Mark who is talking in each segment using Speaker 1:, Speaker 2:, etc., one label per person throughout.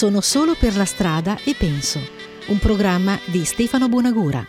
Speaker 1: Sono solo per la strada e penso. Un programma di Stefano Bonagura.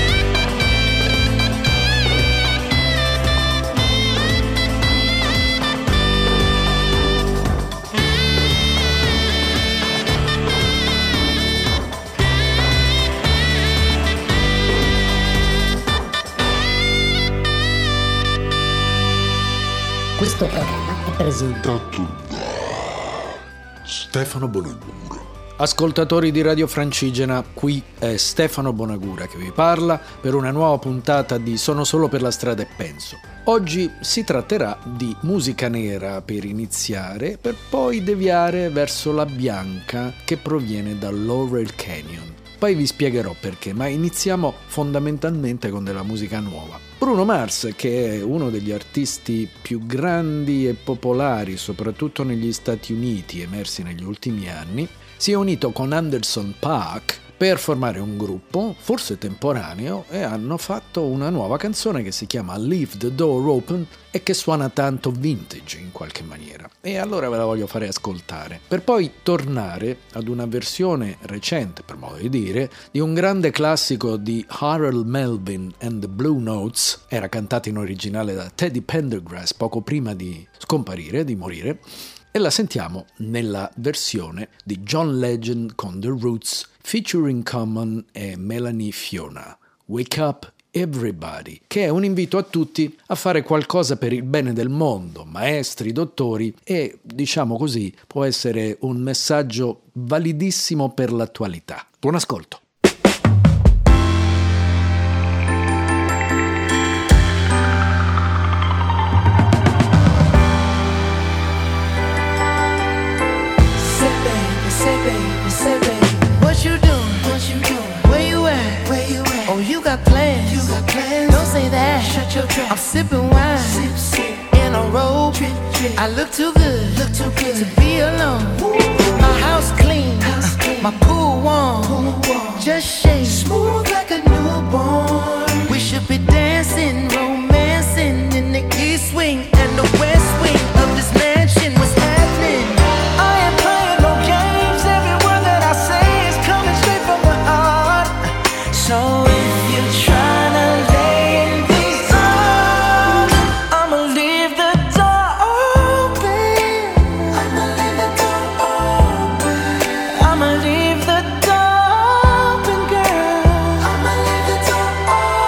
Speaker 2: Questo programma è presentato
Speaker 3: da Stefano Bonagura.
Speaker 4: Ascoltatori di Radio Francigena, qui è Stefano Bonagura che vi parla per una nuova puntata di Sono solo per la strada e penso. Oggi si tratterà di musica nera per iniziare, per poi deviare verso la bianca che proviene dal Laurel Canyon. Poi vi spiegherò perché, ma iniziamo fondamentalmente con della musica nuova. Bruno Mars, che è uno degli artisti più grandi e popolari, soprattutto negli Stati Uniti, emersi negli ultimi anni, si è unito con Anderson .Paak per formare un gruppo, forse temporaneo, e hanno fatto una nuova canzone che si chiama Leave the Door Open e che suona tanto vintage in qualche maniera. E allora ve la voglio fare ascoltare, per poi tornare ad una versione recente, per modo di dire, di un grande classico di Harold Melvin and the Blue Notes. Era cantato in originale da Teddy Pendergrass poco prima di scomparire, di morire, e la sentiamo nella versione di John Legend con The Roots featuring Common e Melanie Fiona. Wake Up Everybody, che è un invito a tutti a fare qualcosa per il bene del mondo, maestri, dottori, e, diciamo così, può essere un messaggio validissimo per l'attualità. Buon ascolto.
Speaker 5: Say baby, what you doing? Where you at? Oh, you got plans. Don't say that. Shut your trap. I'm sipping wine. Sip. In a robe. I look too good to be alone. My house clean. My pool warm. Just shake smooth like a newborn. We should be dancing, romancing in the east wing and the west wing of this mansion. What's happening? I ain't playing no games. Every word that I say is coming straight from the heart. So if you're trying to lay in these arms, I'ma leave the door open. I'ma leave the door open. I'ma leave the door open, girl. I'ma leave the door open.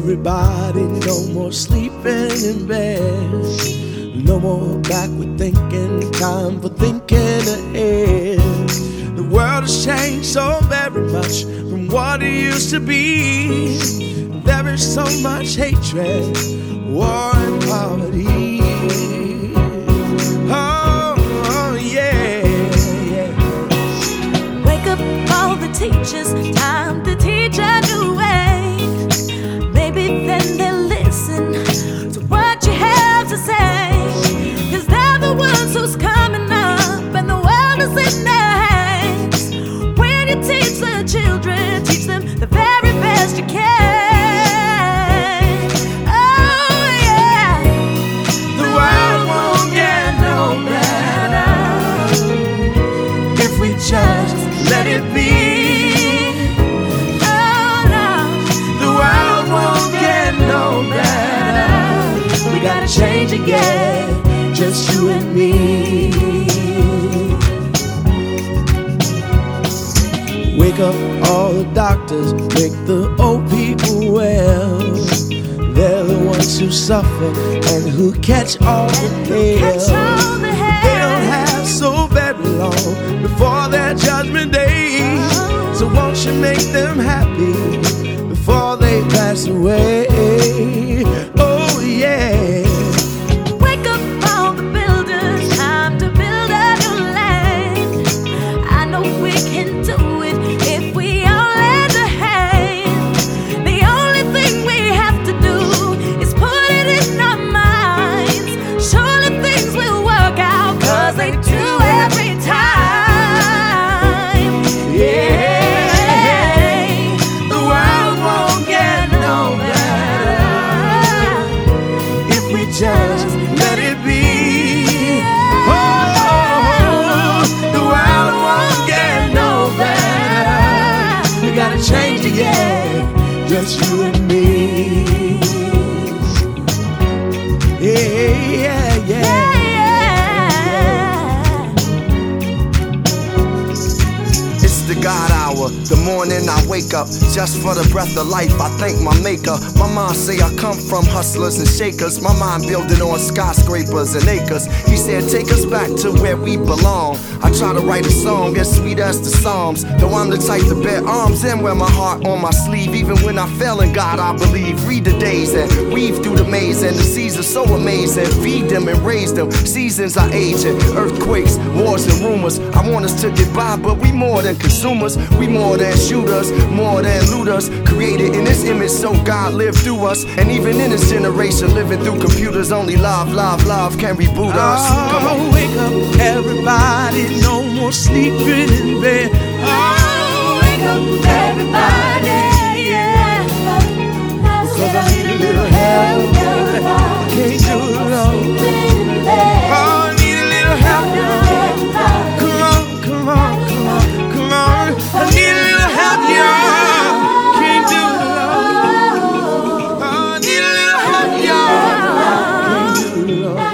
Speaker 3: everybody, no more sleeping in bed. No more backward thinking, time for thinking ahead. The world has changed so very much from what it used to be. There is so much hatred, war and poverty. Oh yeah, yeah.
Speaker 6: Wake up all the teachers, time to teach a new way. Maybe then they'll listen to what you have to say. 'Cause they're the ones who's coming up and the world is in their hands. When you teach the children, teach them the very best you can. Oh yeah.
Speaker 3: The world won't get no better if we just let it be.
Speaker 6: Oh no.
Speaker 3: The world won't get no better. We gotta change again, just you and me. Wake up all the doctors, make the old people well. They're the ones who suffer and who catch all the
Speaker 6: Catch
Speaker 3: hail.
Speaker 6: all the
Speaker 3: They don't
Speaker 6: hair.
Speaker 3: have so very long before their judgment day. So won't you make them happy before they pass away? Oh yeah.
Speaker 6: Wake up all the builders, time to build a new land. I know we can do it if we all lend a hand. The only thing we have to do is put it in our minds. Surely things will work out, 'cause they do every time.
Speaker 3: Yeah. The world won't get no better if we just let it be. Oh, the world won't get no better. We gotta change again, just you and me. Yeah, yeah, yeah.
Speaker 7: It's the God hour, the morning I wake up just for the breath of life. I thank my maker. My mom say I come from hustlers and shakers. My mind building on skyscrapers and acres. He said take us back to where we belong. I try to write a song as sweet as the Psalms, though I'm the type to bear arms and wear my heart on my sleeve. Even when I fail in God I believe. Read the days and weave through the maze, and the seas are so amazing. Feed them and raise them. Seasons are aging, earthquakes, wars and rumors. I want us to get by, but we more than consumers. We more than shooters, more than looters. Created in His image, so God lived through us. And even in this generation, living through computers, only love, love, love can reboot us. Come on.
Speaker 3: Oh, wake up everybody, no more sleeping in bed.
Speaker 6: Oh, wake up everybody, yeah.
Speaker 3: 'Cause I need a little help. I can't do it alone. Oh, I need a little help. Come on, come on, come on, come on. I need a little help, y'all. Can't do it alone. Oh, I need a little help, y'all. Can't do it alone.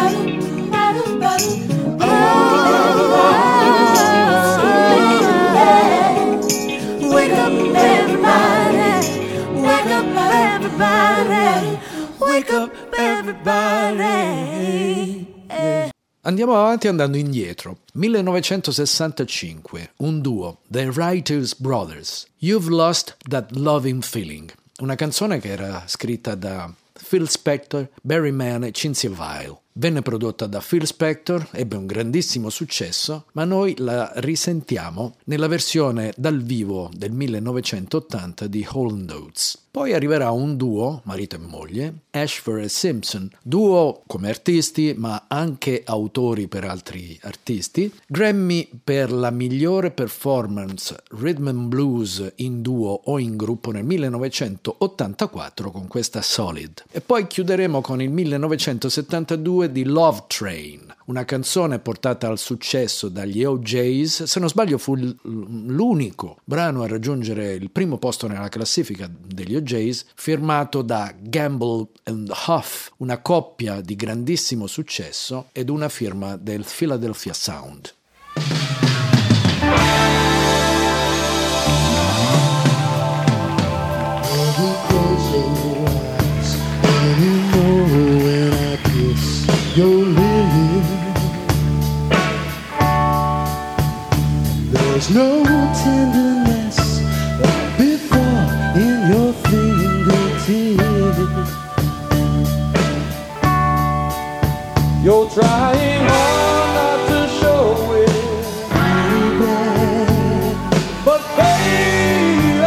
Speaker 6: Wake up everybody, wake up everybody, wake up everybody.
Speaker 4: Andiamo avanti andando indietro. 1965, un duo, The Writers Brothers, You've Lost That Loving Feeling, una canzone che era scritta da Phil Spector, Barry Mann e Cinzia Weil. Venne prodotta da Phil Spector, ebbe un grandissimo successo, ma noi la risentiamo nella versione dal vivo del 1980 di Hall & Oates. Poi arriverà un duo, marito e moglie, Ashford e Simpson, duo come artisti ma anche autori per altri artisti, Grammy per la migliore performance rhythm and blues in duo o in gruppo nel 1984 con questa Solid. E poi chiuderemo con il 1972 di Love Train, una canzone portata al successo dagli OJs. Se non sbaglio fu l'unico brano a raggiungere il primo posto nella classifica degli OJs, firmato da Gamble and Huff, una coppia di grandissimo successo ed una firma del Philadelphia Sound.
Speaker 2: He is
Speaker 3: your lily. There's no tenderness like before in your fingertips. You're trying hard not to show it, baby. But baby,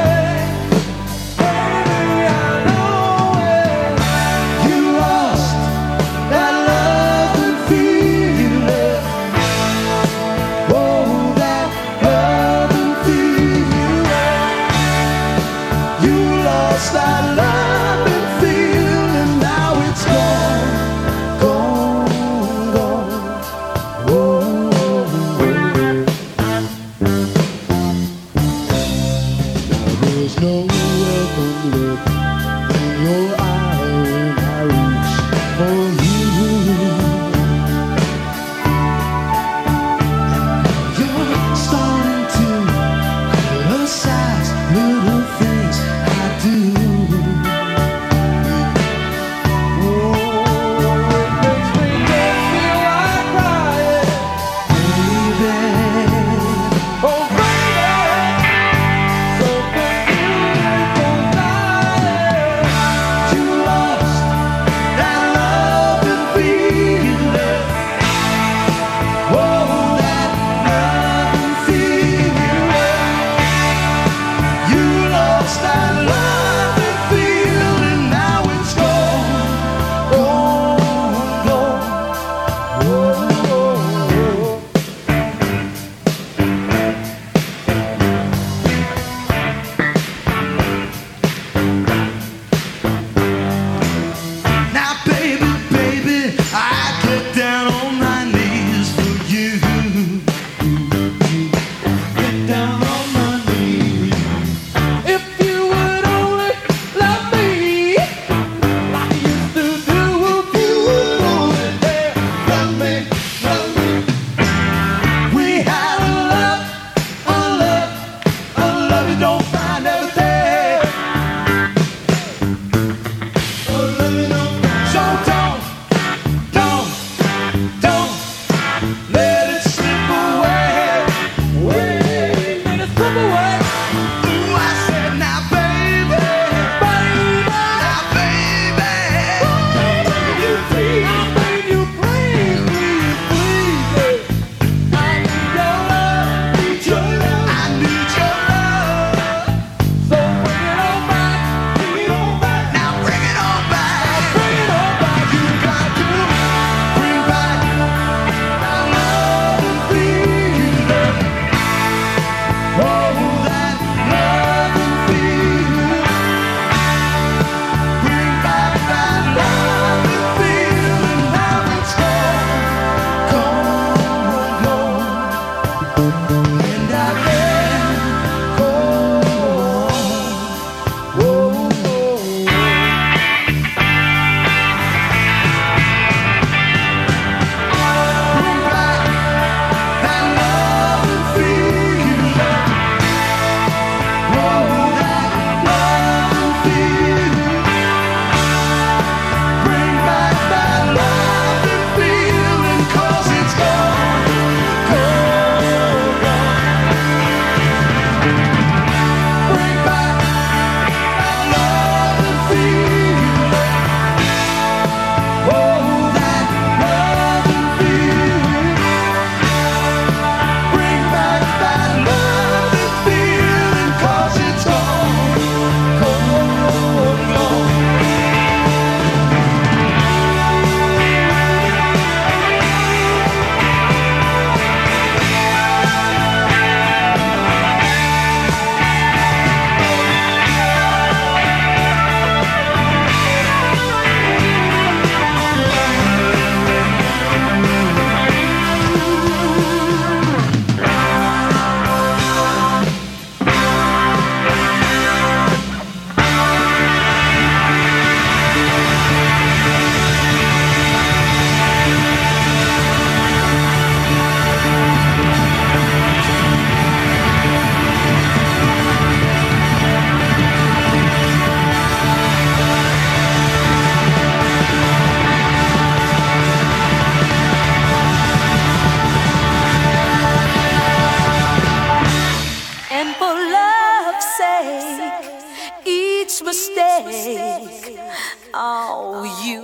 Speaker 3: I know it. You lost that love and feeling. Oh, that love and feeling. You lost that love and feeling. Now it's gone, gone. There's no welcome look in your eye when I reach for you. You're starting to criticize little things I do. Oh, it makes me just feel like crying, baby. Oh, baby. Something beautiful, darling. You lost that love.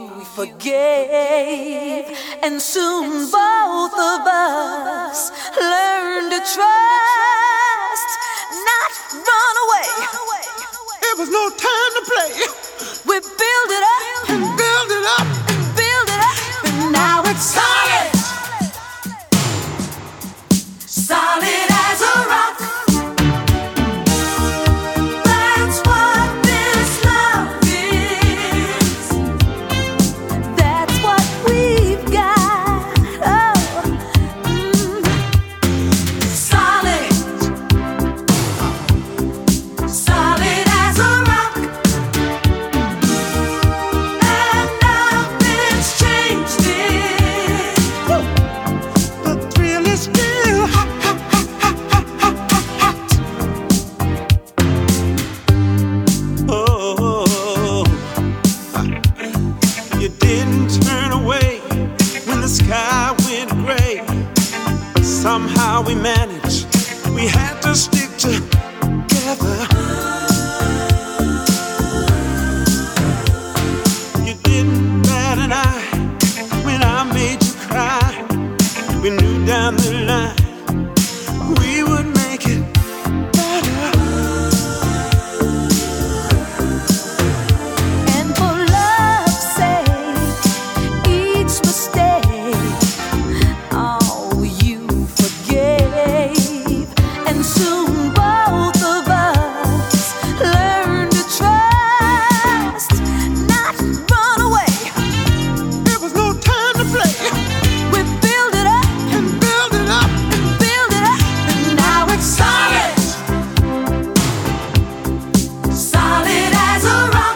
Speaker 6: you forgave, and soon both of us learned to trust, not run away.
Speaker 3: It was no time to play.
Speaker 6: We build it up
Speaker 3: and build it up
Speaker 6: and build it up, and now it's solid, solid as a rock. That's what this love is. That's what we've got. Oh, solid, solid as a rock. And nothing's changed it.
Speaker 3: the thrill is still hot. Oh, you didn't turn away when the sky went gray. Somehow we managed. We had to stick together. You didn't bat an eye when I made you cry. We knew down the line we would make it better.
Speaker 6: And for love's sake, each mistake, oh, you forgave, and soon both of us learned to trust, not run away.
Speaker 3: It was no time to play.
Speaker 6: We build it up
Speaker 3: And build it up.
Speaker 6: and build it up, and now it's solid, solid as a rock.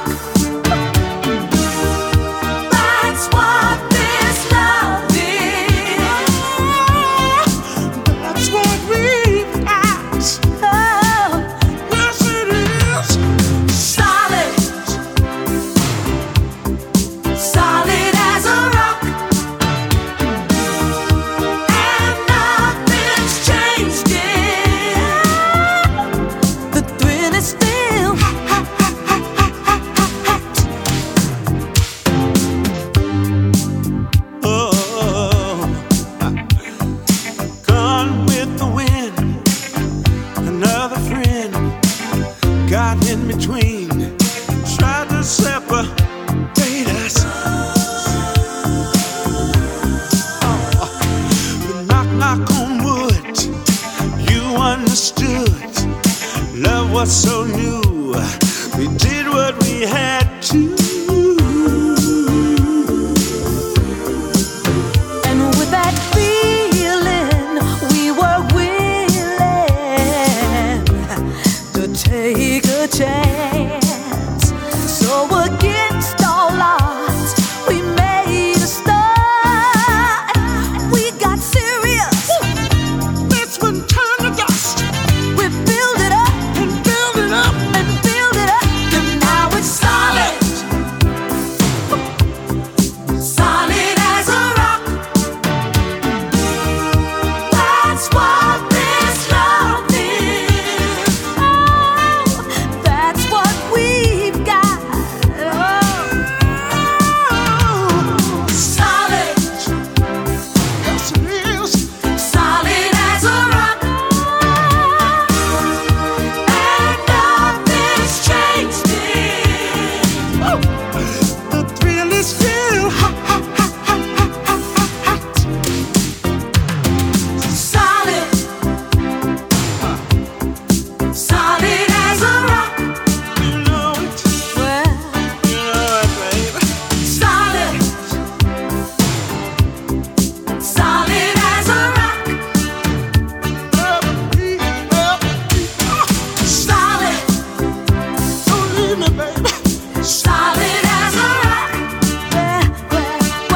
Speaker 6: That's what this love is.
Speaker 3: That's what we've got.
Speaker 6: Oh,
Speaker 3: Yes, it is.
Speaker 6: solid, solid as a rock. And nothing's changed it. The thrill is still
Speaker 3: Oh, gone with the wind. Another friend got in between, tried to separate us. But knock on wood, you understood. Love was so new. We did what we had to.
Speaker 6: And with that feeling, we were willing to take a chance. So against all odds, we made a start. We got serious.
Speaker 3: This one turned to dust.
Speaker 6: We build it up
Speaker 3: And build it up.
Speaker 6: and build it up, and now it's solid, solid as a rock. That's what this love is. Oh, that's what we've got. Oh, solid,
Speaker 3: Yes, it is.
Speaker 6: solid as a rock. And nothing's changed it.
Speaker 3: The thrill is still hot.
Speaker 6: Solid, solid as a rock.
Speaker 3: You know it.
Speaker 6: Well,
Speaker 3: You know it, babe.
Speaker 6: solid, solid as a rock. Solid,
Speaker 3: Don't leave me, baby.
Speaker 6: solid as a rock. Well,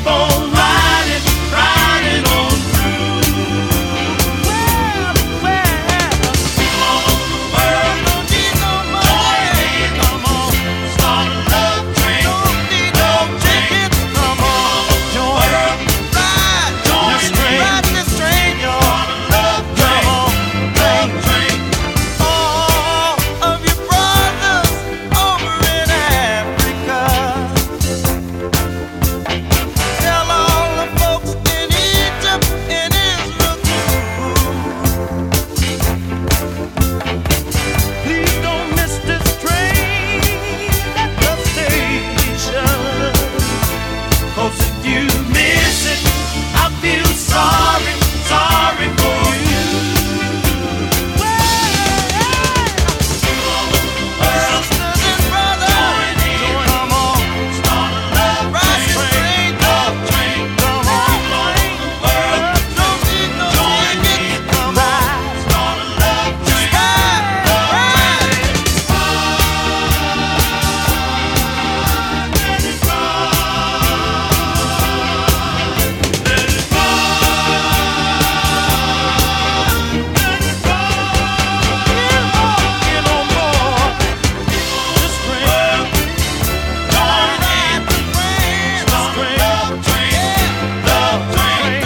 Speaker 3: keep on riding, riding on through. All over the world, don't need no money. Come on, start a love train. Don't need no tickets. Come on, join ride, ride this train, y'all. Come on, love train. All of your brothers over in Africa. Tell all the folks in Egypt and Israel too. Please don't miss this train at the station. 'Cause if you miss it, I feel sorry, sorry for you. Sisters and brothers, come on, start a love train, love train. Come on, don't need no ticket. Come on, start a love train, ride. Get on board this train. Join in the train. Start a love train, love train.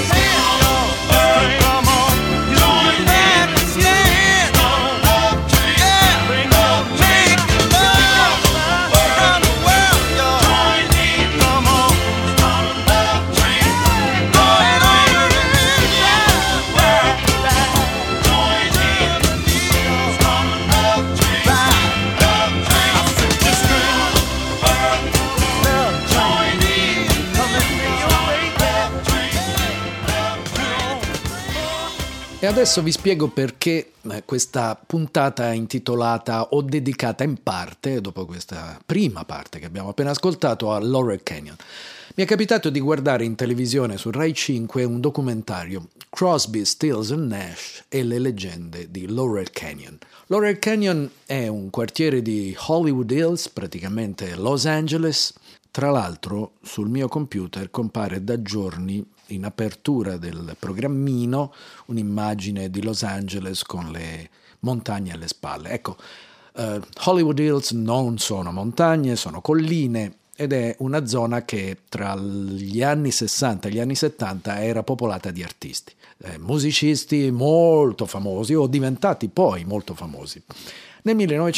Speaker 3: Come on, join in the train. Start a love train. Bring love, make love around the world, y'all. Join in, come on, start a love train. Going over in the world. Join in, start a love train. Love train. This train, love, join in, come and bring your way back.
Speaker 4: E adesso vi spiego perché questa puntata è intitolata o dedicata in parte, dopo questa prima parte che abbiamo appena ascoltato, a Laurel Canyon. Mi è capitato di guardare in televisione su Rai 5 un documentario, Crosby, Stills and Nash e le leggende di Laurel Canyon. Laurel Canyon è un quartiere di Hollywood Hills, praticamente Los Angeles. Tra l'altro sul mio computer compare da giorni in apertura del programmino un'immagine di Los Angeles con le montagne alle spalle. Ecco, Hollywood Hills non sono montagne, sono colline ed è una zona che tra gli anni 60 e gli anni 70 era popolata di artisti, musicisti molto famosi o diventati poi molto famosi. Nel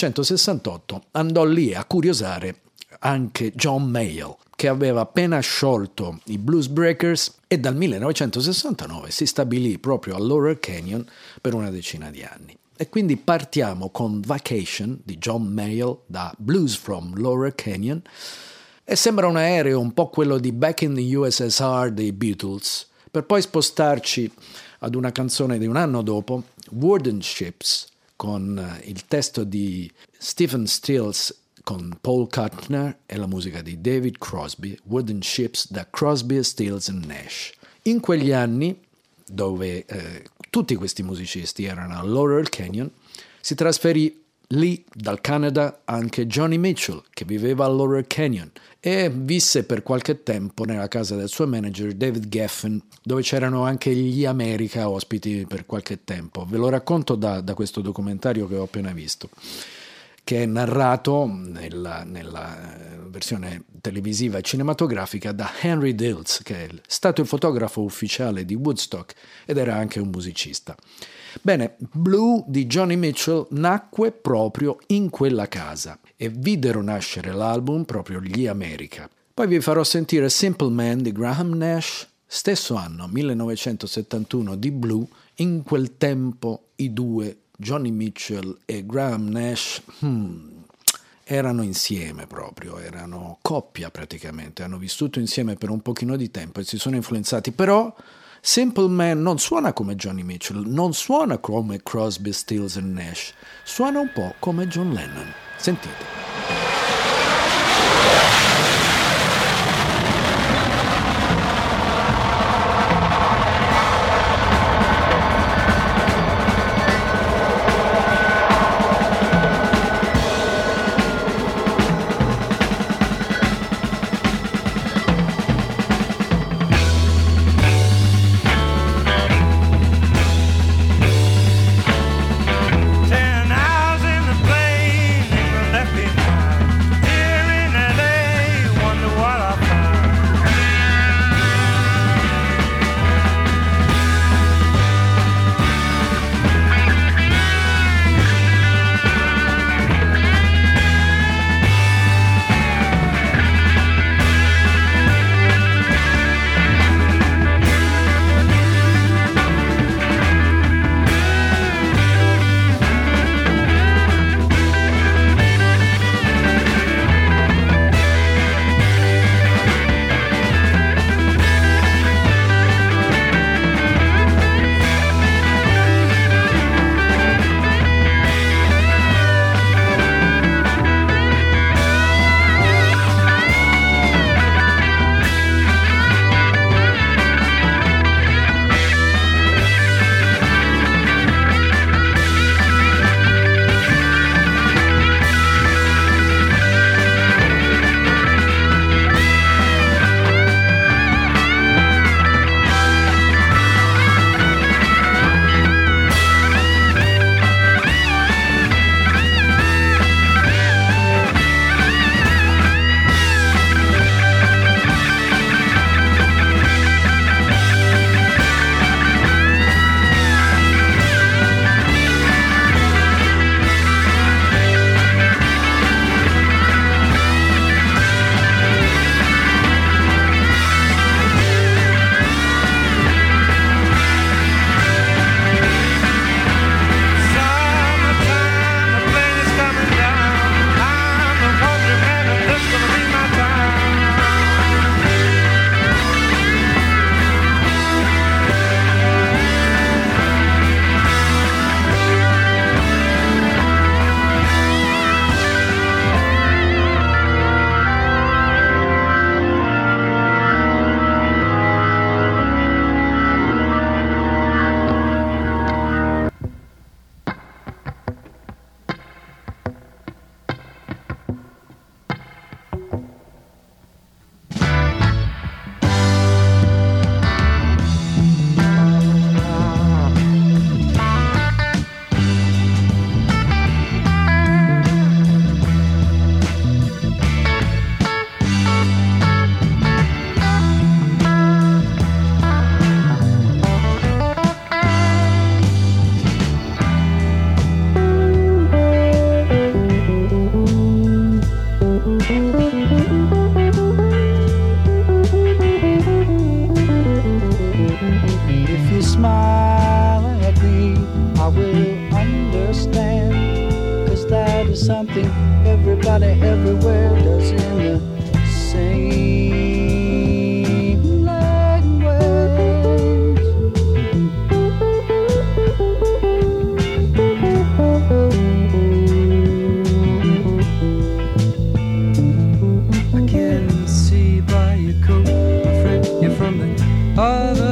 Speaker 4: 1968 andò lì a curiosare anche John Mayall, che aveva appena sciolto i Blues Breakers e dal 1969 si stabilì proprio a Laurel Canyon per una decina di anni. E quindi partiamo con Vacation di John Mayall da Blues from Laurel Canyon e sembra un aereo un po' quello di Back in the USSR dei Beatles, per poi spostarci ad una canzone di un anno dopo, Wooden Ships, con il testo di Stephen Stills con Paul Kuttner e la musica di David Crosby, Wooden Ships da Crosby, Stills and Nash. In quegli anni, dove tutti questi musicisti erano a Laurel Canyon, si trasferì lì dal Canada anche Johnny Mitchell, che viveva a Laurel Canyon e visse per qualche tempo nella casa del suo manager David Geffen, dove c'erano anche gli America ospiti per qualche tempo. Ve lo racconto da questo documentario che ho appena visto, che è narrato nella versione televisiva e cinematografica da Henry Dills, che è stato il fotografo ufficiale di Woodstock ed era anche un musicista. Bene, Blue di Johnny Mitchell nacque proprio in quella casa e videro nascere l'album proprio gli America. Poi vi farò sentire Simple Man di Graham Nash, stesso anno, 1971, di Blue. In quel tempo i due, Johnny Mitchell e Graham Nash, erano insieme proprio, erano coppia praticamente, hanno vissuto insieme per un pochino di tempo e si sono influenzati, però Simple Man non suona come Johnny Mitchell, non suona come Crosby, Stills and Nash, suona un po' come John Lennon. Sentite.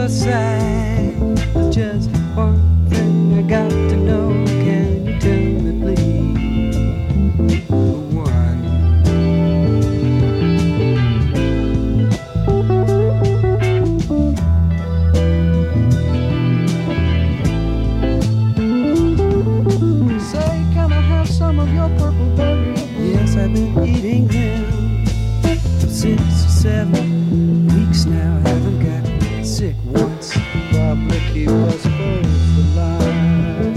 Speaker 3: aside. Just one thing I got to know. Can you tell me, please? One. Say, can I have some of your purple berries? Yes, I've been eating them for 6 or 7 weeks now. I haven't got sick once. Probably keep us both alive.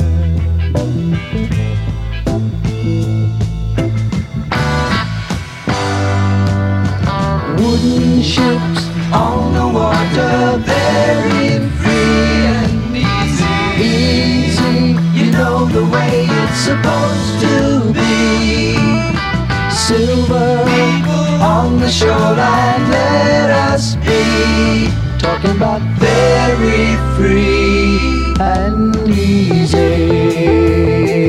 Speaker 3: Wooden ships on the water, very free and easy. Easy, you know the way it's supposed to be. Silver on the shoreline, let us be. Talking about very free and easy.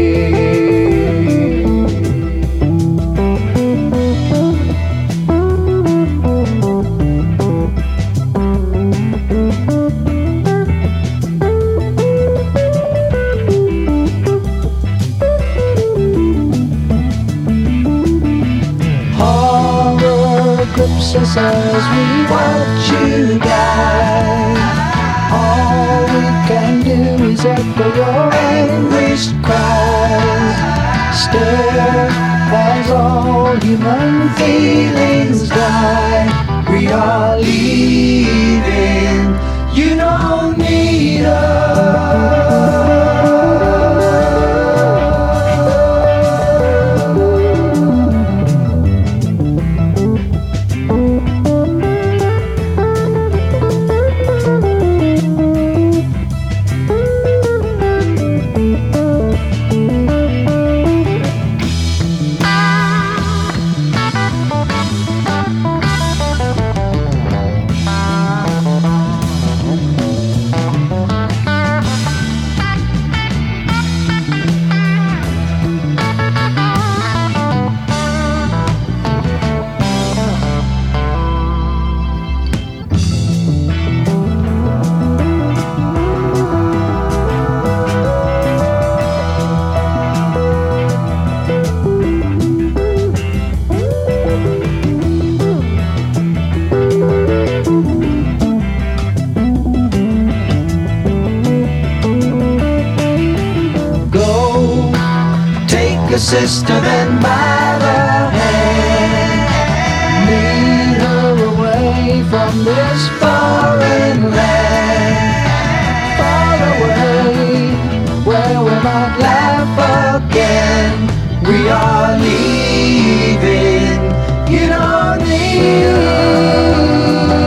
Speaker 3: Grips us as we watch you die. All we can do is echo your anguished cries. Stare as all human feelings die. We are leaving, you don't need us. Sister, then by the hand, lead her away from this foreign land, far away, where we might laugh again. We are leaving, you don't need.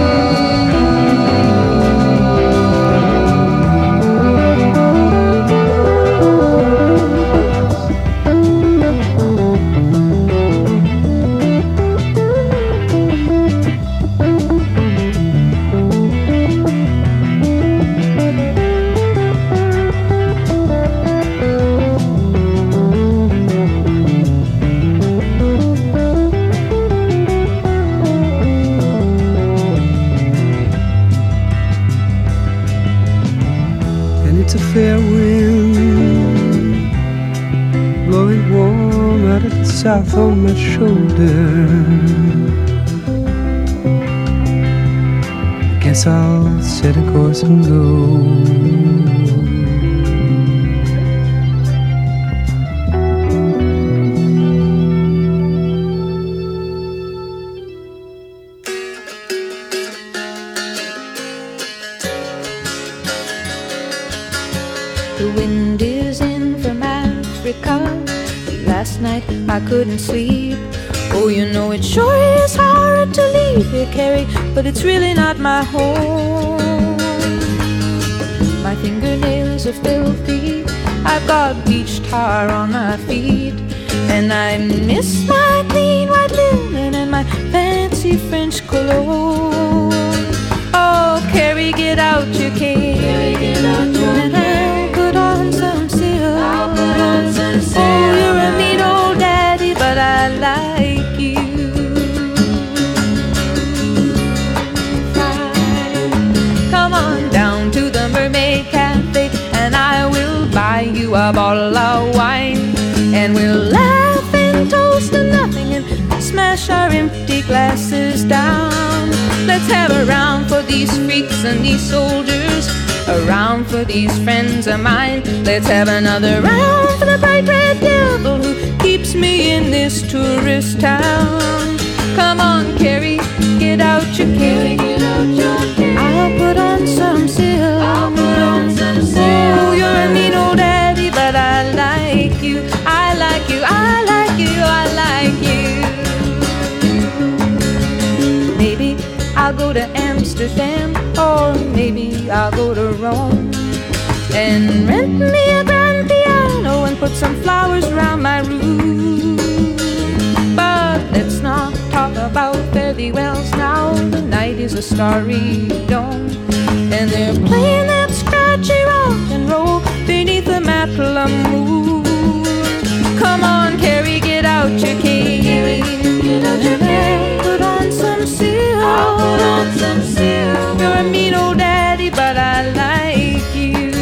Speaker 3: It's a fair wind blowing warm out of the south on my shoulder. Guess I'll set a course and go.
Speaker 8: The wind is in from Africa. Last night I couldn't sleep. Oh, you know it sure is hard to leave here, Carrie, but it's really not my home. My fingernails are filthy. I've got beach tar on my feet, and I miss my clean white linen and my fancy French cologne. Oh, Carrie, get out your cane. Carrie, get out your cane. Put on some silk. Oh, you're a neat old daddy, but I like you. Fine. Come on down glasses down. Let's have a round for these freaks and these soldiers, a round for these friends of mine. Let's have another round for the bright red devil who keeps me in this tourist town. Come on, Carrie, get out your cane. I'll put on some silk. Oh, you're a mean old daddy, but I like you. I like you, I like you, I like you. Maybe I'll go to Amsterdam, or maybe I'll go to Rome, and rent me a grand piano and put some flowers around my room. But let's not talk about fairy wells now. The night is a starry dome, and they're playing that scratchy rock and roll beneath the Macklemore moon. Come on, Carrie, get out your cane. Put on some silk. I'll put on some silk. You're a mean old daddy, but I like you.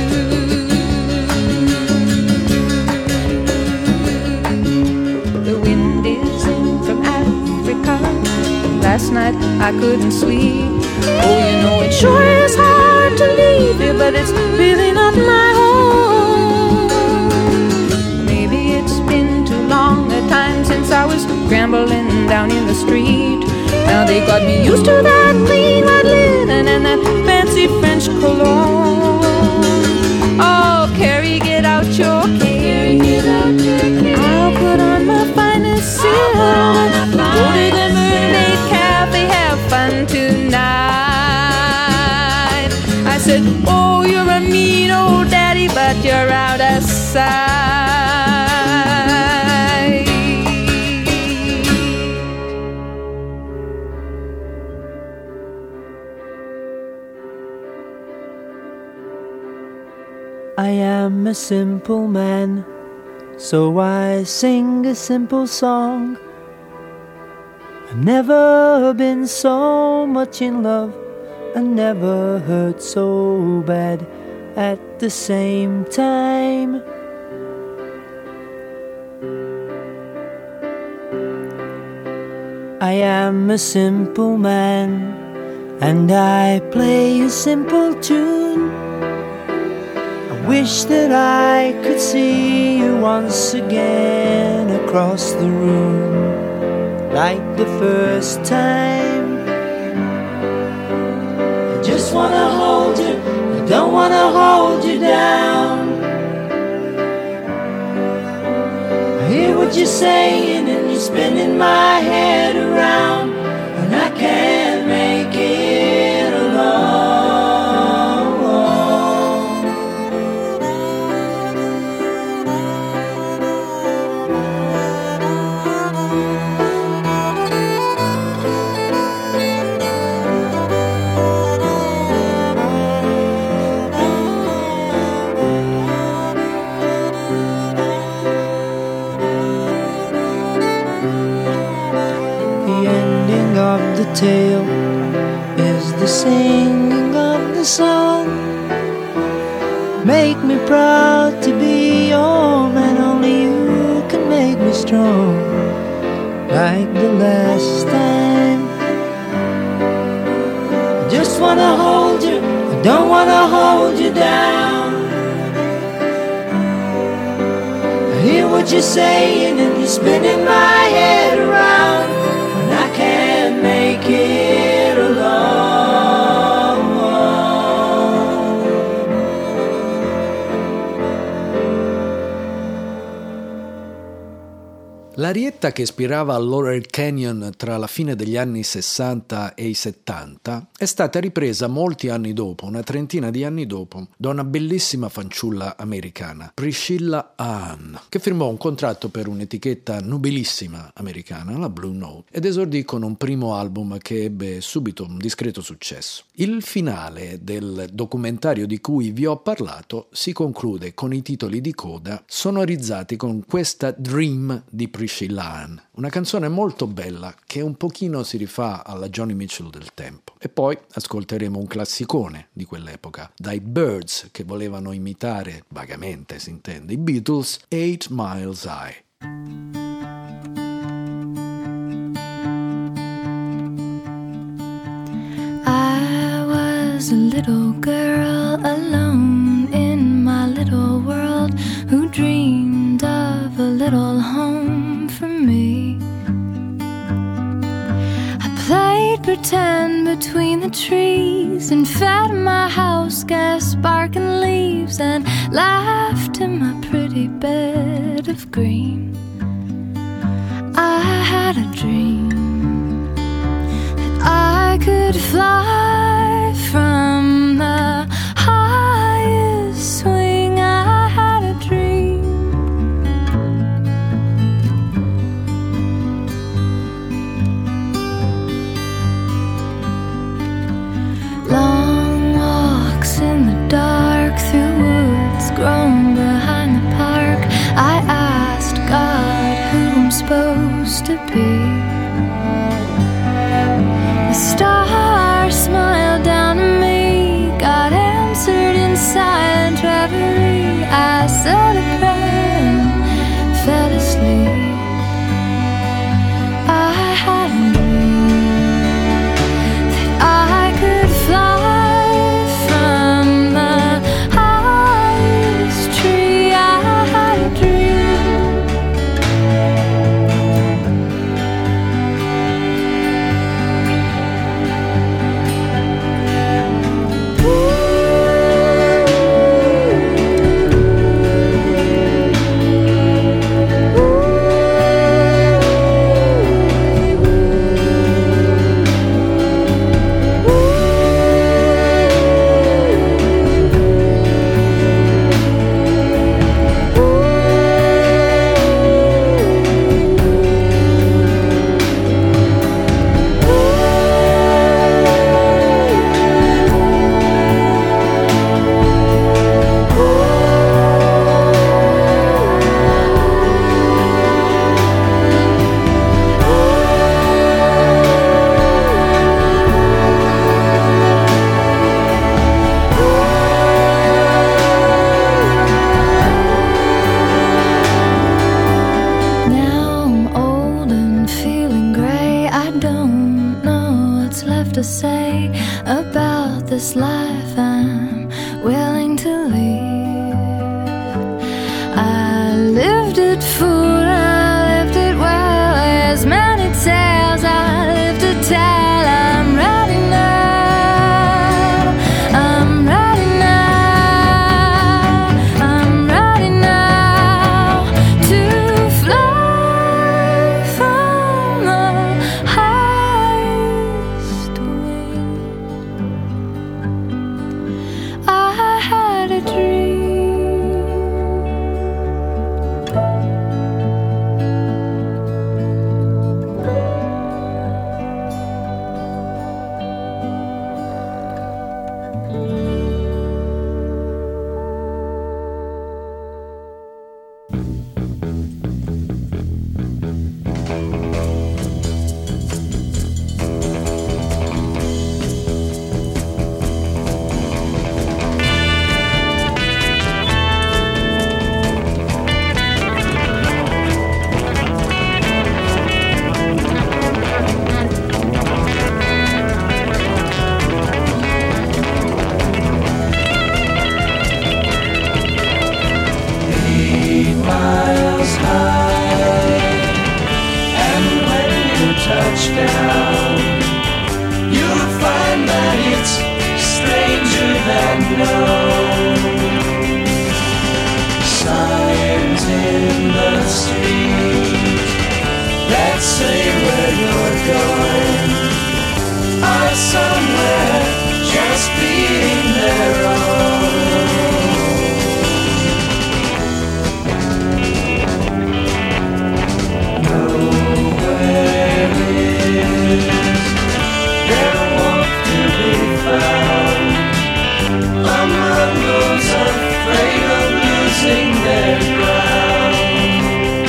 Speaker 8: The wind is in from Africa. Last night I couldn't sleep. Oh, you know it sure is hard to leave you, but it's really not my home. Maybe it's been too long a time since I was scrambling down in the street. Now they got me used to that clean white linen and that fancy French cologne. Oh, Carrie, get out your cane. I'll put on my finest silk. Go to the Mermaid Cafe, have fun tonight. I said, oh, you're a mean old daddy, but you're out of sight.
Speaker 9: I am a simple man, so I sing a simple song. I've never been so much in love, I never hurt so bad at the same time. I am a simple man, and I play a simple tune. I wish that I could see you once again across the room, like the first time. I just wanna hold you, I don't wanna hold you down. I hear what you're saying and you're spinning my head around, and I can't make it alone. The tale is the singing of the song. Make me proud to be your man, only you can make me strong, like the last time. I just wanna hold you, I don't wanna hold you down. I hear what you're saying and you're spinning my head around, and I can't make it alone.
Speaker 4: L'arietta che ispirava al Laurel Canyon tra la fine degli anni 60 e i 70 è stata ripresa molti anni dopo, una trentina di anni dopo, da una bellissima fanciulla americana, Priscilla Ann, che firmò un contratto per un'etichetta nobilissima americana, la Blue Note, ed esordì con un primo album che ebbe subito un discreto successo. Il finale del documentario di cui vi ho parlato si conclude con i titoli di coda sonorizzati con questa Dream di Priscilla Ann, una canzone molto bella che un pochino si rifà alla Joni Mitchell del tempo. E poi ascolteremo un classicone di quell'epoca, dai Byrds, che volevano imitare, vagamente si intende, i Beatles, 8 Miles High.
Speaker 8: was a little girl alone in my little world who dreamed of a little home for me. I played pretend between the trees and fed my house gas sparking leaves and laughed in my pretty bed of green. I had a dream that I could fly from the highest swing. I had a dream. Long walks in the dark through woods grown behind the park. I asked God who I'm supposed to be. The stars smiled down at me. God answered in silent reverie. I said a prayer and fell asleep. I had a dream that I could fly from the highest tree. I had a dream. To say about this life I'm willing to leave. I lived it full, I lived it well. As many tales I live to tell. I'm ready now. I'm ready now. I'm ready now to fly from the highest. I had a dream.
Speaker 3: Touchdown, you'll find that it's stranger than known. Signs in the street that say where you're going are somewhere just being their own. Among those afraid of losing their ground.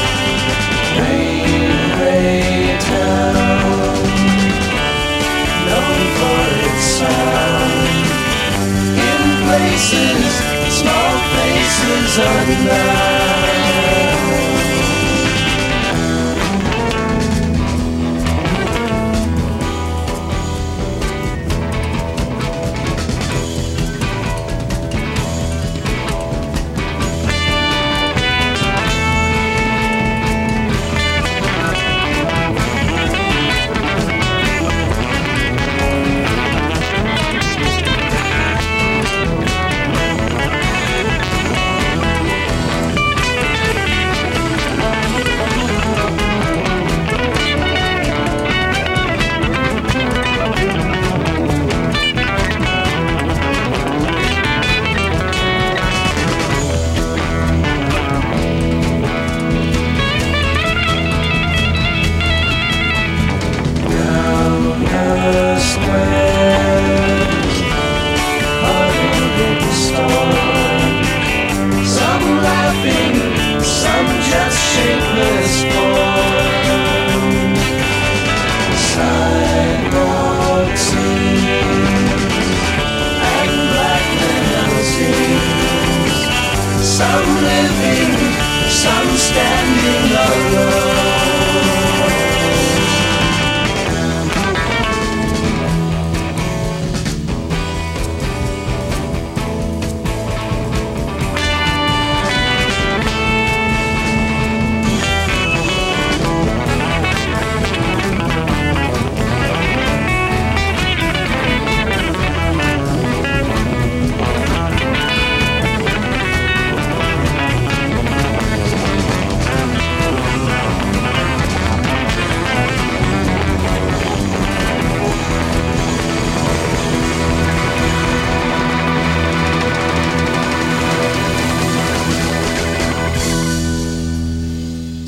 Speaker 3: Railway town, known for its sound. In places, small faces unknown.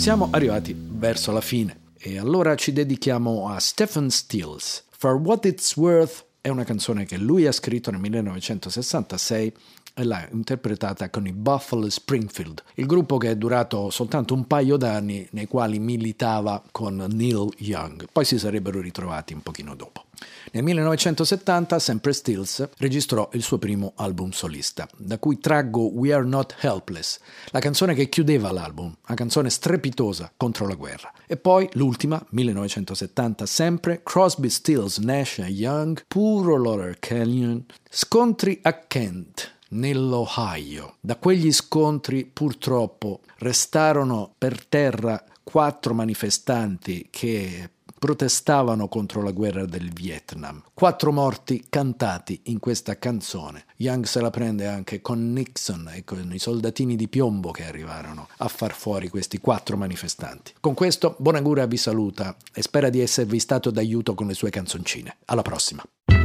Speaker 4: Siamo arrivati verso la fine e allora ci dedichiamo a Stephen Stills. For What It's Worth è una canzone che lui ha scritto nel 1966 e l'ha interpretata con i Buffalo Springfield, il gruppo che è durato soltanto un paio d'anni nei quali militava con Neil Young, poi si sarebbero ritrovati un pochino dopo. Nel 1970 sempre Stills registrò il suo primo album solista, da cui traggo We Are Not Helpless, la canzone che chiudeva l'album, una canzone strepitosa contro la guerra. E poi l'ultima, 1970 sempre, Crosby, Stills, Nash & Young, Puro Laurel Canyon, scontri a Kent, nell'Ohio. Da quegli scontri purtroppo restarono per terra 4 manifestanti che protestavano contro la guerra del Vietnam. 4 morti cantati in questa canzone. Young se la prende anche con Nixon e con i soldatini di piombo che arrivarono a far fuori questi 4 manifestanti. Con questo Bonagura vi saluta e spera di esservi stato d'aiuto con le sue canzoncine. Alla prossima!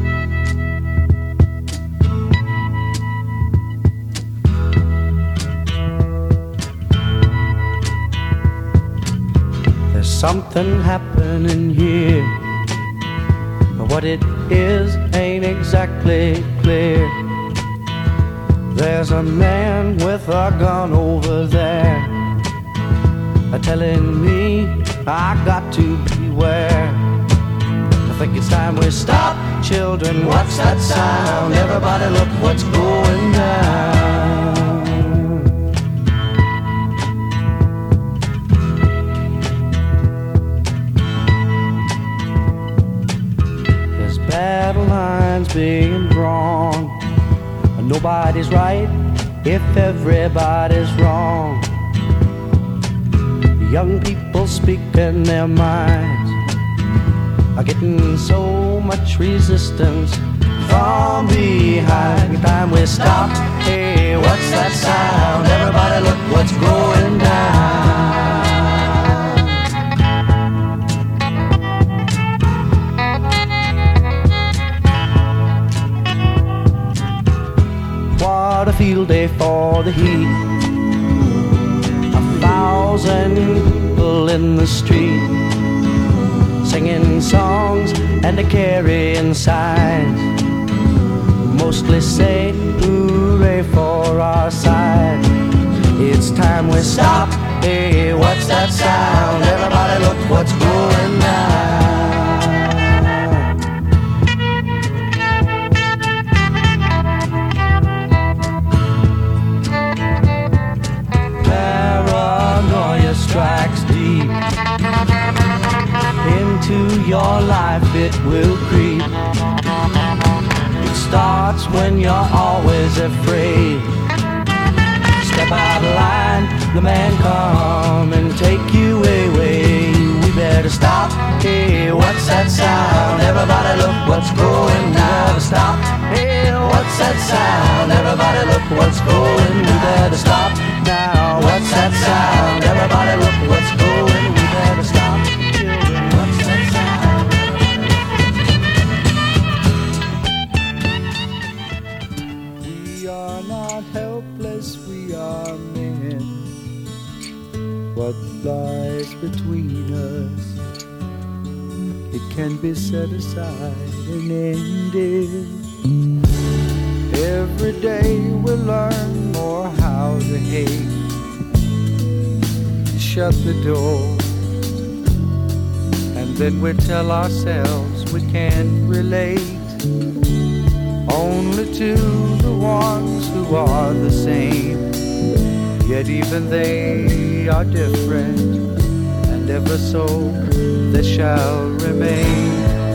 Speaker 9: Something happening here, but what it is ain't exactly clear. There's a man with a gun over there, telling me I got to beware. I think it's time we stop, children. What's that sound? Everybody look what's going down. Battle lines being drawn. Nobody's right if everybody's wrong. Young people speaking their minds are getting so much resistance from behind. Time we stop. Hey, what's that sound? Everybody look what's going down. What a field day for the heat. 1,000 people in the street, singing songs and carrying signs, mostly say hooray for our side. It's time we stop. Hey, what's that sound? Everybody look what's going down. Strikes deep into your life, it will creep. It starts when you're always afraid. Step out of line, the man come and take you away. We better stop. Hey, what's that sound? Everybody look what's going down. Stop. Hey, what's that sound? Everybody look what's going. We better stop now. What's that sound? Everybody look what's going. We better stop. Children, what's that sound? We are not helpless, we are men. What lies between us, it can be set aside and ended. Every day we learn more how to hate. Shut the door, and then we tell ourselves we can't relate. Only to the ones who are the same, yet even they are different, and ever so they shall remain.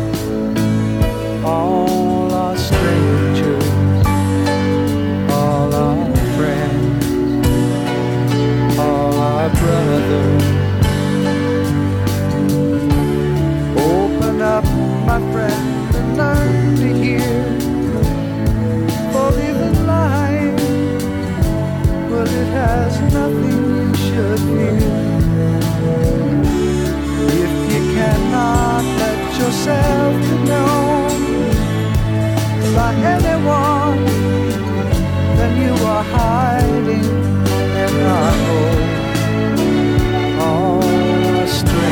Speaker 9: All are strangers, all are friends, all are brothers. Open up, my friend, and learn to hear. For even lying, well, it has nothing you should fear. If you cannot let yourself be known by anyone, then you are hiding in our home.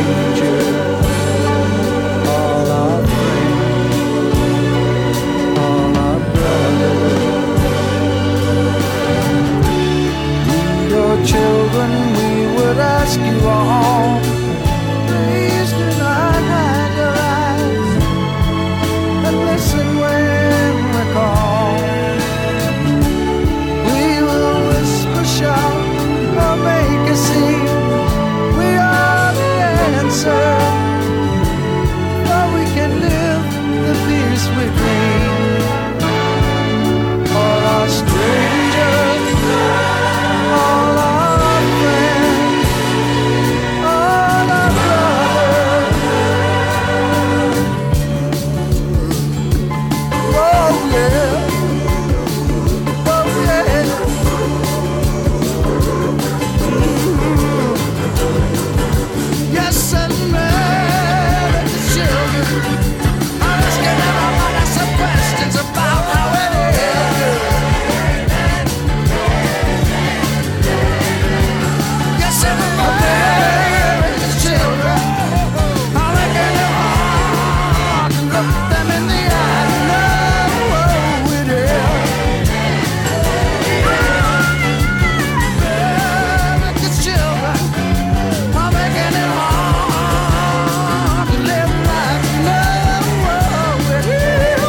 Speaker 9: strangers, all our friends, all our brothers. We, your children, we would ask you all, please do not hide your eyes and listen when we call. We will whisper, shout, or make a scene. We are the answer, or we can live the peace we dream. All our strangers, all our friends, all our brothers. Oh yeah, oh yeah. Yes, and American children are asking everybody some questions about how it is. Yes, and American children are making it hard to look them in the eye and know it is. American children are making it hard to live life and know it is.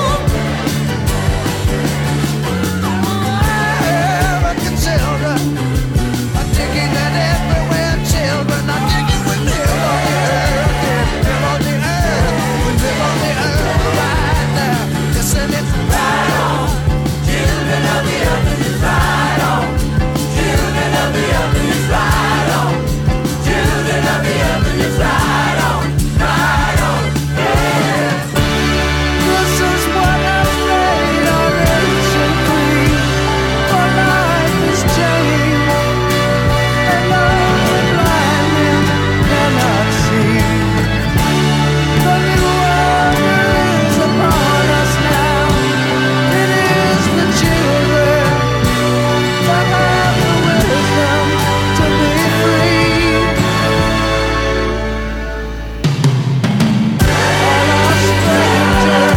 Speaker 9: American children are digging it everywhere. Children are digging. We live on the earth, yeah, live on the earth. We live on the earth right now. Listen, it's right on. Children of the earth is right on. Children of the earth is right on. Children of the earth is right on. Right on, yeah. This is what I made our ancient creed. For life is changed, and all the blind men cannot see. The new order is upon us now. It is the children that have the wisdom to be free. All our strangers,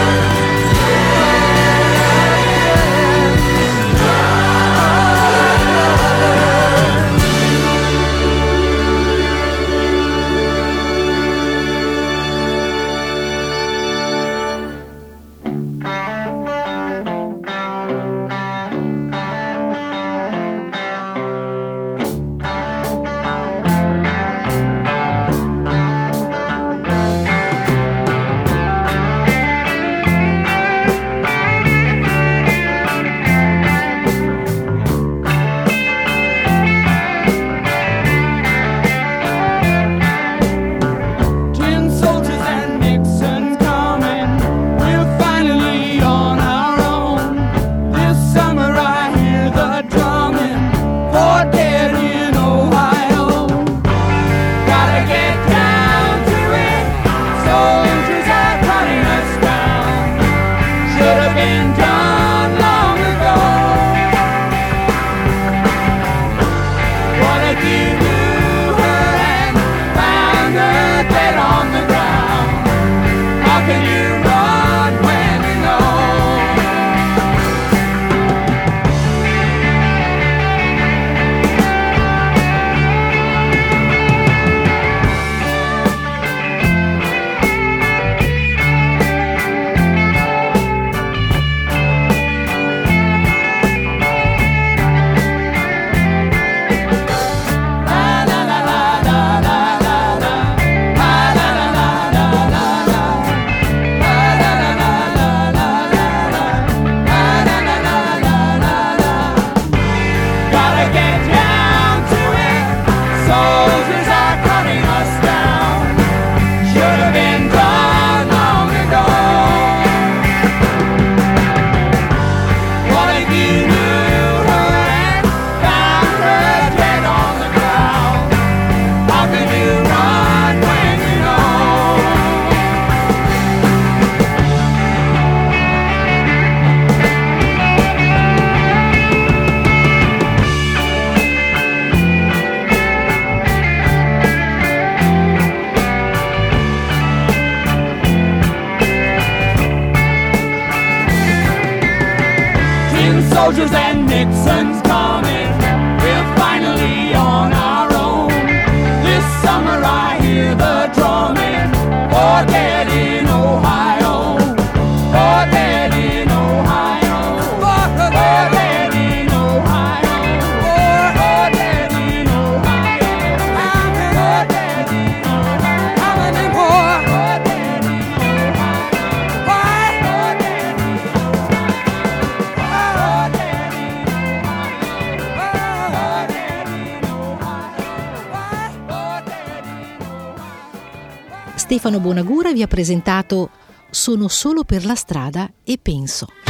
Speaker 9: tin soldiers and Nixon's coming. We're finally on our own. This summer I hear the drumming for dead in Ohio. Gotta get down to it. Soldiers are cutting us down. Should have been done long ago. What if you heard and found her dead on the ground? How can you run when you know?
Speaker 3: soldiers and Nixon's coming. We're finally on our own. This summer I hear the drumming. Oh, dead in Ohio. Oh, dead in Ohio. Oh, dead in Ohio. Oh, dead in Ohio. Oh, dead in Ohio. How many more? Oh, dead in Ohio. Why? Oh, dead in Ohio. Oh, dead in Ohio. Oh, dead in Ohio. Why? Oh, dead in Ohio.
Speaker 1: Stefano Bonagura vi ha presentato Sono solo per la strada e penso.